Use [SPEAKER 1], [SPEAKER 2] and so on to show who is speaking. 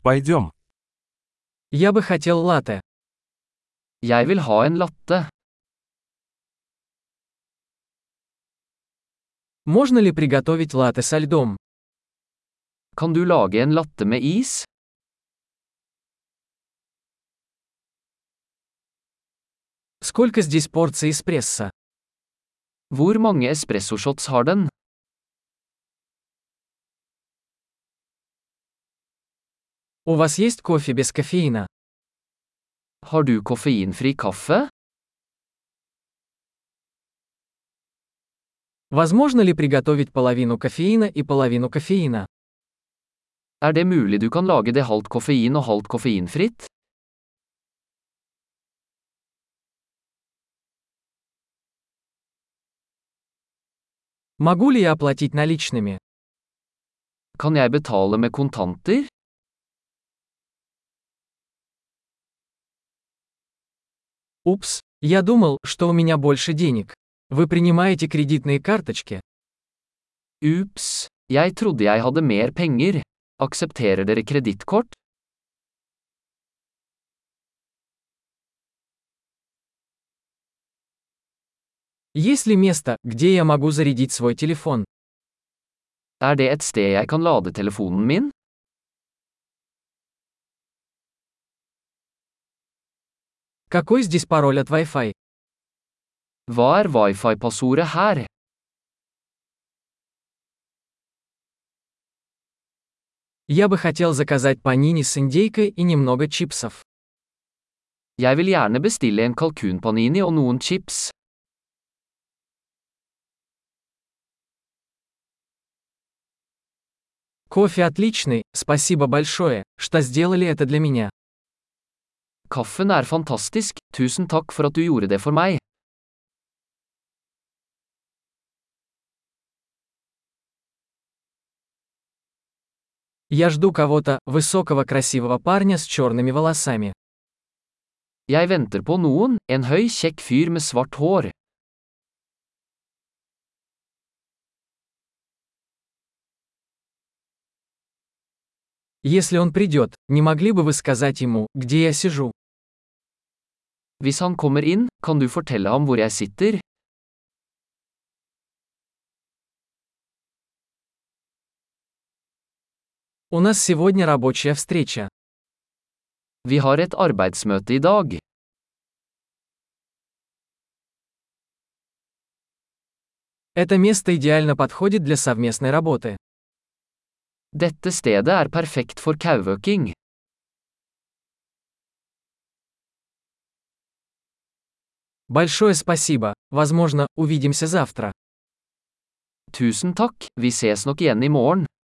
[SPEAKER 1] Пойдем.
[SPEAKER 2] Я бы хотел латте.
[SPEAKER 3] Jeg vil ha en latte.
[SPEAKER 2] Можно ли приготовить латте со льдом?
[SPEAKER 3] Kan du lage en latte med is?
[SPEAKER 2] Сколько здесь порций эспрессо?
[SPEAKER 3] Hvor mange espressoshots har den?
[SPEAKER 2] У вас есть кофе без кофеина?
[SPEAKER 3] Har du koffeinfri kaffe?
[SPEAKER 2] Возможно ли приготовить половину кофеина и половину кофеина?
[SPEAKER 3] Er det mulig du kan lage det halvt koffein og halvt koffeinfritt?
[SPEAKER 2] Могу ли я оплатить наличными?
[SPEAKER 3] Kan jeg betale med kontanter?
[SPEAKER 2] Упс, я думал, что у меня больше денег. Вы принимаете кредитные карточки?
[SPEAKER 3] Ups, jeg trodde jeg hadde mer penger. Aksepterer dere kredittkort?
[SPEAKER 2] Есть ли место, где я могу зарядить свой телефон?
[SPEAKER 3] Er det et sted jeg kan lade telefonen min?
[SPEAKER 2] Какой здесь пароль от Wi-Fi?
[SPEAKER 3] Hva er wifi-passordet her?
[SPEAKER 2] Я бы хотел заказать панини с индейкой и немного чипсов.
[SPEAKER 3] Jeg vil gjerne bestille en kalkunpanini og noen chips.
[SPEAKER 2] Кофе отличный, спасибо большое, что сделали это для меня.
[SPEAKER 3] Kaffen er fantastisk, tusen takk for at du gjorde det for meg.
[SPEAKER 2] Я жду кого-то, высокого красивого парня с черными волосами.
[SPEAKER 3] Jeg venter på noen, en høy, kjekk fyr med svart hår.
[SPEAKER 2] Если он придет, не могли бы вы сказать ему, где я сижу?
[SPEAKER 3] Hvis han kommer inn, kan du fortelle ham hvor jeg sitter?
[SPEAKER 2] У нас сегодня рабочая встреча.
[SPEAKER 3] Vi har et arbeidsmøte i dag.
[SPEAKER 2] Это место идеально подходит для совместной работы.
[SPEAKER 3] Dette stedet er perfekt for kauøking.
[SPEAKER 2] Большое спасибо, возможно, увидимся завтра.
[SPEAKER 3] Tusen takk, vi ses nok igjen i morgen.